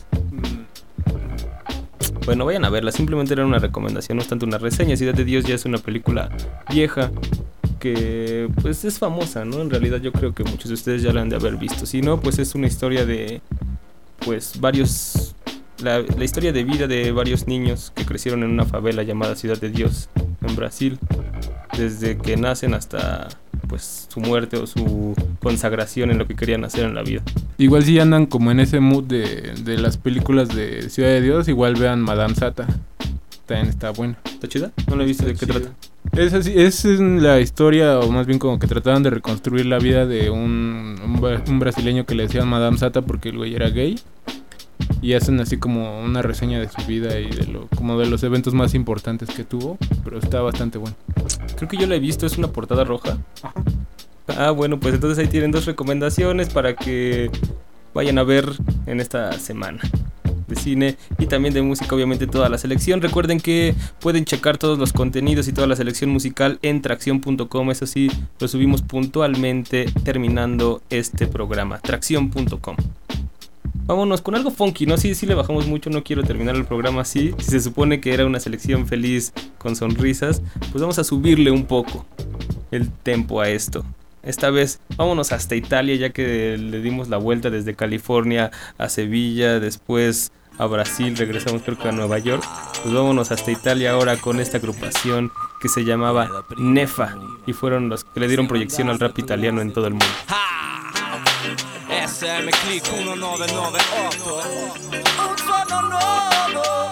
B: Bueno, vayan a verla, simplemente era una recomendación, no es tanto una reseña. Ciudad de Dios ya es una película vieja que pues es famosa, ¿no? En realidad yo creo que muchos de ustedes ya la han de haber visto. Si no, pues es una historia de pues varios... La, la historia de vida de varios niños que crecieron en una favela llamada Ciudad de Dios en Brasil, desde que nacen hasta pues su muerte o su consagración en lo que querían hacer en la vida.
E: Igual si andan como en ese mood de, de las películas de Ciudad de Dios, igual vean Madame Sata, también está buena.
B: ¿Está chida? No la he visto, ¿de qué trata?
E: Es así, es la historia, o más bien como que trataban de reconstruir la vida de un, un, un brasileño que le decían Madame Sata porque el güey era gay. Y hacen así como una reseña de su vida y de lo como de los eventos más importantes que tuvo, pero está bastante bueno.
B: Creo que yo la he visto, es una portada roja. Ah, bueno, pues entonces ahí tienen dos recomendaciones para que vayan a ver en esta semana de cine y también de música, obviamente toda la selección. Recuerden que pueden checar todos los contenidos y toda la selección musical en tracción punto com. Eso sí, lo subimos puntualmente terminando este programa. tracción punto com. Vámonos con algo funky, ¿no? Sí, sí le bajamos mucho, no quiero terminar el programa así. Si se supone que era una selección feliz con sonrisas, pues vamos a subirle un poco el tempo a esto. Esta vez vámonos hasta Italia, ya que le dimos la vuelta desde California a Sevilla, después a Brasil, regresamos creo que a Nueva York. Pues vámonos hasta Italia ahora con esta agrupación que se llamaba Nefa y fueron los que le dieron proyección al rap italiano en todo el mundo.
L: S M Click uno nove nove otto un suono nuovo.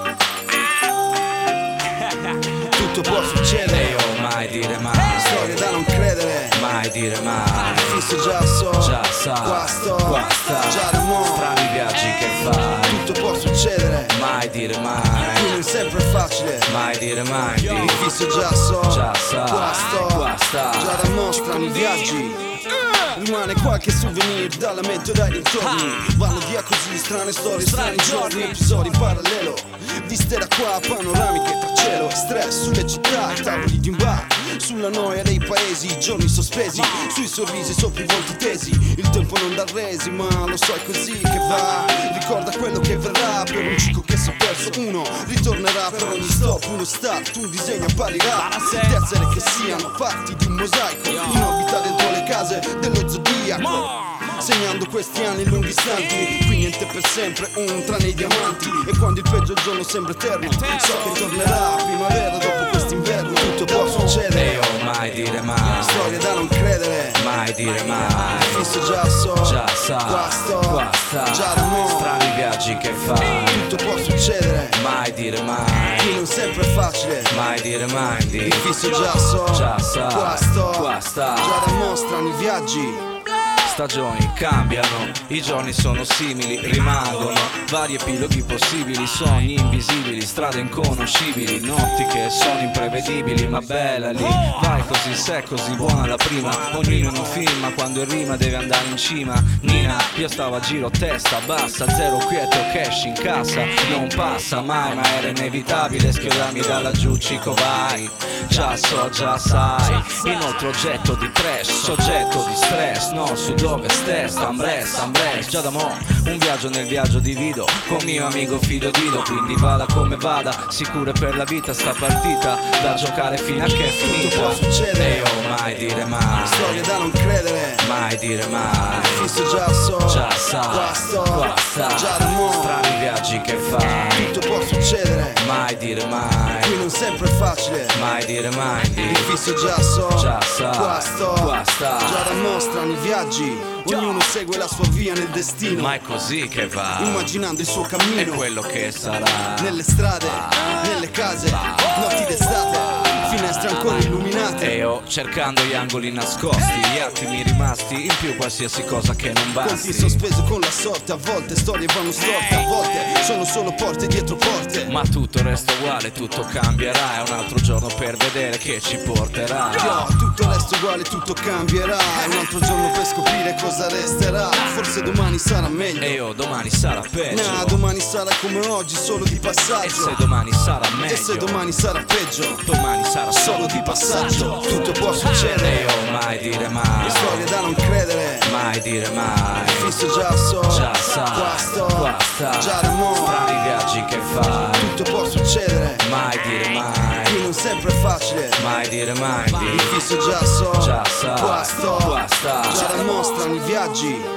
N: Tutto può succedere,
L: oh, mai dire mai.
N: Storie da non credere,
L: mai dire mai.
N: Fisso già so,
L: già sa,
N: qua sto,
L: qua sta.
N: già da mo',
L: strani viaggi che fai.
N: Tutto può succedere,
L: mai dire mai.
N: qui non sempre è facile,
L: mai dire mai.
N: Fisso già so,
L: già sa,
N: qua sto,
L: qua sta.
N: già da mo', strani viaggi. Rimane qualche souvenir dalla mente dai dintorni. Vanno via così strane storie, strani giorni, episodi in parallelo, viste da qua, panoramiche tra cielo e stress sulle città, i tavoli di un bar, sulla noia dei paesi, i giorni sospesi, sui sorrisi sopra i volti tesi. Il tempo non dà resi, ma lo so è così che va. Ricorda quello che verrà, per un cico che si è perso uno ritornerà, per ogni stop uno start, un disegno apparirà. Tessere che siano fatti di un mosaico, in orbita dentro le case dello zodiaco, segnando questi anni lunghi istanti. Qui niente per sempre, un tranne i diamanti. E quando il peggio giorno sembra eterno, so che tornerà primavera dopo quest'inverno. Tutto può succedere,
L: oh, mai dire mai.
N: Storie da non credere,
L: mai dire mai.
N: Fisso già so,
L: già sa,
N: qua sto,
L: qua sta.
N: già da mo',
L: strani viaggi che fai.
N: tutto può succedere,
L: mai dire mai.
N: qui non sempre è facile,
L: mai dire mai.
N: il fisso già so,
L: già sa,
N: qua sto,
L: qua sta.
N: già da mo', strani viaggi.
L: Stagioni cambiano, i giorni sono simili, rimangono vari epiloghi possibili, sogni invisibili, strade inconoscibili, notti che sono imprevedibili, ma bella lì, vai così, se così buona la prima, ognuno in un film, ma quando in rima deve andare in cima. Nina, io stavo a giro testa bassa, zero quieto, cash in cassa, non passa mai, ma era inevitabile schiodarmi da laggiù, cico vai, già so, già sai, inoltre oggetto di trash, soggetto di stress, no, su dove stai, Ambress, Ambress, già da mo', un viaggio nel viaggio divido, con mio amico Fido Dido, quindi vada come vada, sicure per la vita sta partita, da giocare fino a che è finita.
N: Tutto può succedere,
L: e oh, mai dire mai,
N: storie da non credere,
L: mai dire mai,
N: fisso già so,
L: già sa,
N: qua sto,
L: qua sta,
N: già da mo',
L: strani viaggi che fai,
N: tutto può succedere,
L: mai dire mai,
N: qui non sempre è facile,
L: mai dire mai,
N: il fisso già so,
L: già sa,
N: qua sto,
L: qua sta,
N: già da mo', strani viaggi. Ognuno segue la sua via nel destino,
L: ma è così che va,
N: immaginando il suo cammino,
L: è quello che sarà,
N: nelle strade, nelle case, notti d'estate, finestre ancora illuminate,
L: e io cercando gli angoli nascosti, gli attimi rimasti, in più qualsiasi cosa che non basti,
N: conti sospeso con la sorte, a volte storie vanno storte, a volte sono solo porte dietro porte,
L: ma tutto resta uguale, tutto cambierà, è un altro giorno per vedere che ci porterà.
N: Yo, tutto resta uguale, tutto cambierà, è un altro giorno per scoprire cosa resterà, forse domani sarà meglio,
L: e io domani sarà peggio,
N: nah, domani sarà come oggi, solo di passaggio,
L: e se domani sarà meglio,
N: e se domani sarà peggio,
L: domani sarà
N: solo di passaggio. Tutto può succedere,
L: e io mai dire mai,
N: storie da non credere,
L: mai dire mai,
N: fisso già so,
L: già sa,
N: qua sto,
L: qua sta,
N: già da mo',
L: strani viaggi che fai,
N: tutto può succedere,
L: mai dire mai,
N: qui non sempre è facile,
L: mai dire mai,
N: il fisso già so,
L: già sa,
N: qua sto,
L: qua sta,
N: già da mo', strani viaggi.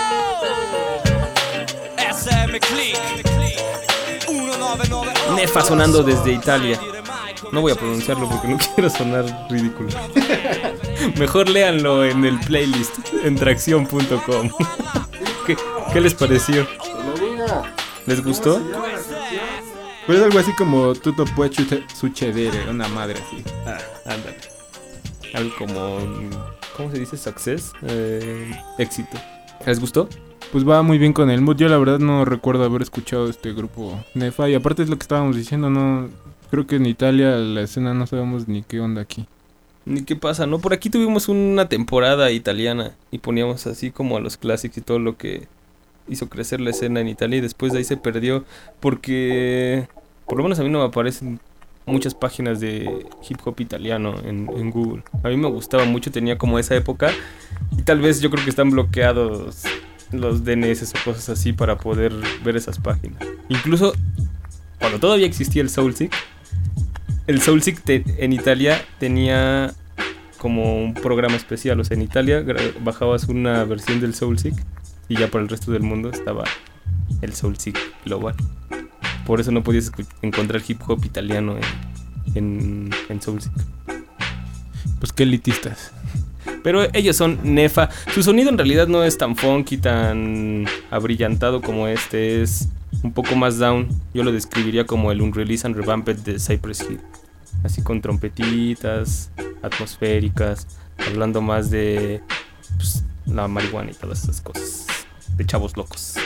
L: S M Click uno nove nove otto.
B: Nefa sonando desde Italia. No voy a pronunciarlo porque no quiero sonar ridículo. Mejor léanlo en el playlist en tracción punto com. ¿Qué, ¿Qué les pareció? ¿Les gustó?
E: Pues algo así como Tutto può succedere, una madre así.
B: Ah, ándale. Algo como, ¿cómo se dice? Success, eh, éxito. ¿Les gustó?
E: Pues va muy bien con el mood. Yo la verdad no recuerdo haber escuchado este grupo Nefa. Y aparte es lo que estábamos diciendo, no, Creo que en Italia la escena no sabemos ni qué onda aquí.
B: Ni qué pasa, ¿no? Por aquí tuvimos una temporada italiana y poníamos así como a los clásicos y todo lo que hizo crecer la escena en Italia, y después de ahí se perdió porque, por lo menos a mí no me aparecen muchas páginas de hip hop italiano en, en Google. A mí me gustaba mucho, tenía como esa época, y tal vez yo creo que están bloqueados los D N S o cosas así para poder ver esas páginas. Incluso cuando todavía existía el Soulseek, el Soulseek te, en Italia tenía como un programa especial. O sea, en Italia gra- bajabas una versión del Soulseek y ya para el resto del mundo estaba el Soulseek global. Por eso no podías escu- encontrar hip hop italiano en, en, en Soulseek.
E: Pues qué elitistas.
B: Pero ellos son Nefa. Su sonido en realidad no es tan funky, tan abrillantado como este. Es un poco más down. Yo lo describiría como el Unreleased and Revamped de Cypress Hill. Así con trompetitas atmosféricas, hablando más de pues, la marihuana y todas esas cosas. De chavos locos.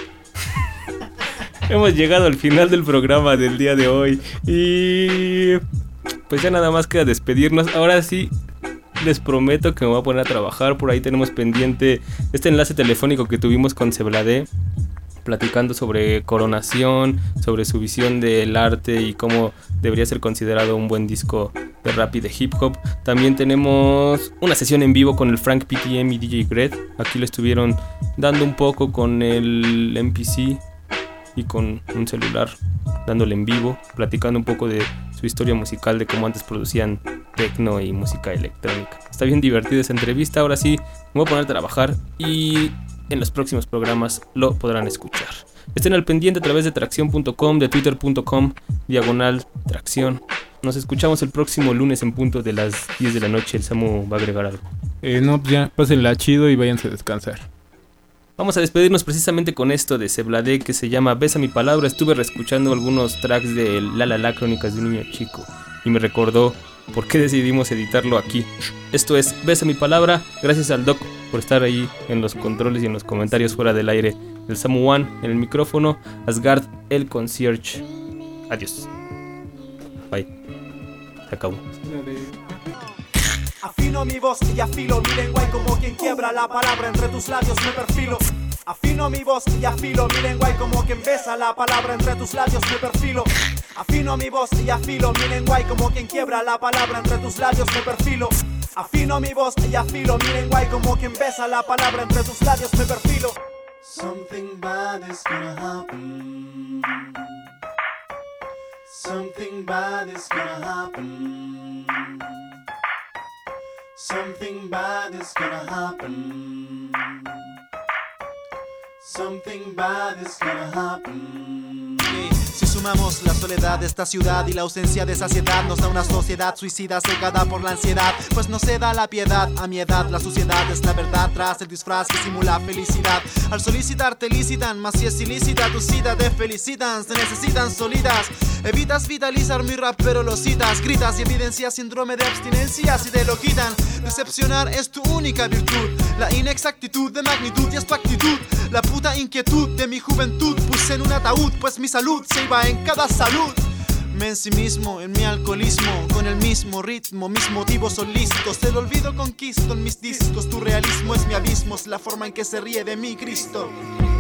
B: Hemos llegado al final del programa del día de hoy. Y pues ya nada más queda despedirnos. Ahora sí, les prometo que me voy a poner a trabajar. Por ahí tenemos pendiente este enlace telefónico que tuvimos con Sebladé, platicando sobre Coronación, sobre su visión del arte y cómo debería ser considerado un buen disco de rap y de hip hop. También tenemos una sesión en vivo con el Frank P T M y D J Gred. Aquí le estuvieron dando un poco con el M P C y con un celular, dándole en vivo, platicando un poco de su historia musical, de cómo antes producían techno y música electrónica. Está bien divertida esa entrevista. Ahora sí, me voy a poner a trabajar y en los próximos programas lo podrán escuchar. Estén al pendiente a través de tracción punto com, de twitter punto com, diagonal tracción. Nos escuchamos el próximo lunes en punto de las diez de la noche. El Samu va a agregar algo.
E: Eh, no, pues ya, pásenla chido y váyanse a descansar.
B: Vamos a despedirnos precisamente con esto de Sebladé, que se llama Besa mi palabra. Estuve reescuchando algunos tracks de La La La, Crónicas de un niño chico, y me recordó por qué decidimos editarlo aquí. Esto es Besa mi palabra. Gracias al Doc por estar ahí en los controles y en los comentarios fuera del aire. El Samu One en el micrófono. Asgard, el concierge. Adiós. Bye. Se acabó.
O: Afino mi voz y afilo mi lengua, y como quien quiebra la palabra entre tus labios me perfilo. Afino mi voz y afilo mi lengua, y como quien besa la palabra entre tus labios me perfilo. Afino mi voz y afilo mi lengua, y como quien quiebra la palabra entre tus labios me perfilo. Afino mi voz y afilo mi lengua, y como quien besa la palabra entre tus labios me perfilo.
P: Something bad is gonna happen. Something bad is gonna happen. Something bad is gonna happen. Something bad is gonna happen.
Q: Si sumamos la soledad de esta ciudad y la ausencia de saciedad, nos da una sociedad suicida cegada por la ansiedad. Pues no se da la piedad, a mi edad la suciedad es la verdad tras el disfraz que simula felicidad. Al solicitar te licitan, mas si es ilícita tu cita te felicitan, se necesitan sólidas. Evitas vitalizar mi rap pero lo citas, gritas y evidencias síndrome de abstinencia si te lo quitan. Decepcionar es tu única virtud, la inexactitud de magnitud y es tu actitud. La puta inquietud de mi juventud puse en un ataúd, pues mi salud se iba en cada salud. Me ensimismo en mi alcoholismo, con el mismo ritmo, mis motivos son listos. El olvido conquisto en mis discos, tu realismo es mi abismo, es la forma en que se ríe de mí Cristo.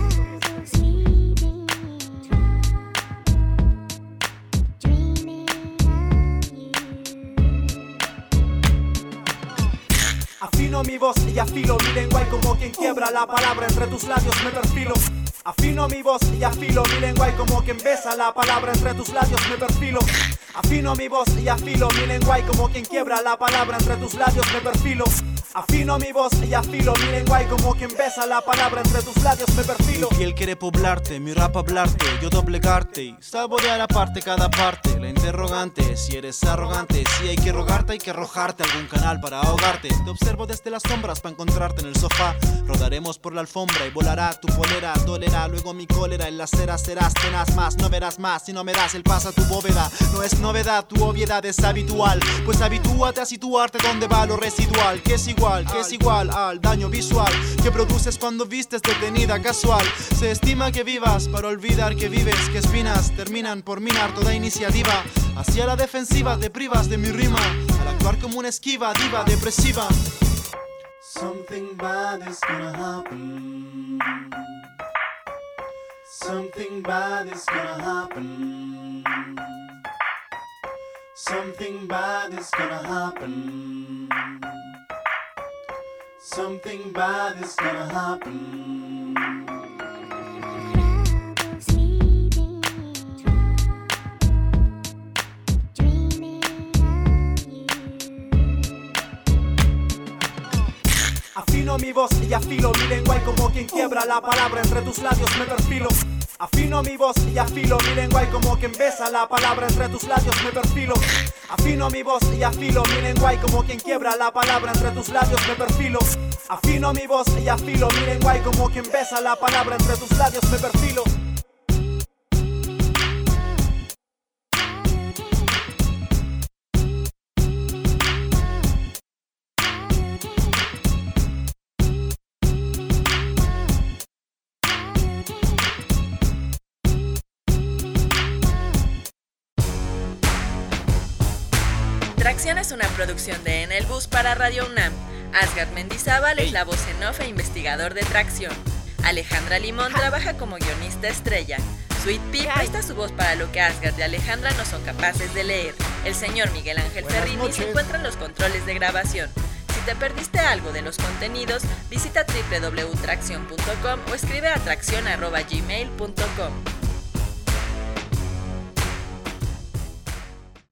O: Afino mi voz y afilo mi lengua, y como quien quiebra la palabra entre tus labios me perfilo. Afino mi voz y afilo mi lengua, y como quien besa la palabra entre tus labios me perfilo. Afino mi voz y afilo mi lengua, y como quien quiebra la palabra entre tus labios me perfilo. Afino mi voz y afilo mi lengua, y como quien besa la palabra entre tus labios me perfilo.
Q: Mi piel quiere poblarte, mi rap hablarte, yo doblegarte y saborear aparte cada parte. La interrogante, si eres arrogante, si hay que rogarte, hay que arrojarte a algún canal para ahogarte. Te observo desde las sombras para encontrarte en el sofá. Rodaremos por la alfombra y volará tu polera, dolerá luego mi cólera. En la acera serás tenaz más, no verás más si no me das el paso a tu bóveda. No es es novedad, tu obviedad es habitual. Pues habitúate a situarte donde va lo residual, que es igual, que es igual al daño visual que produces cuando vistes detenida casual. Se estima que vivas para olvidar que vives, que espinas terminan por minar toda iniciativa. Hacia la defensiva te privas de mi rima, al actuar como una esquiva diva depresiva.
P: Something bad is gonna happen. Something bad is gonna happen. Something bad is gonna happen. Something bad is gonna happen.
O: Afino mi voz y afilo mi lengua y como quien quiebra la palabra entre tus labios me perfilo. Afino mi voz y afilo mi lengua y como quien besa la palabra entre tus labios me perfilo. Afino mi voz y afilo mi lengua y como quien quiebra la palabra entre tus labios me perfilo. Afino mi voz y afilo mi lengua y como quien besa la palabra entre tus labios me perfilo.
R: Tracción es una producción de En el Bus para Radio UNAM. Asgard Mendizábal es la voz en off e investigador de Tracción. Alejandra Limón trabaja como guionista estrella. Sweet Pea presta su voz para lo que Asgard y Alejandra no son capaces de leer. El señor Miguel Ángel
O: Buenas
R: Ferrini
O: noches.
R: se encuentra en los controles de grabación. Si te perdiste algo de los contenidos, visita doble u doble u doble u punto tracción punto com o escribe a tracción arroba gmail punto com.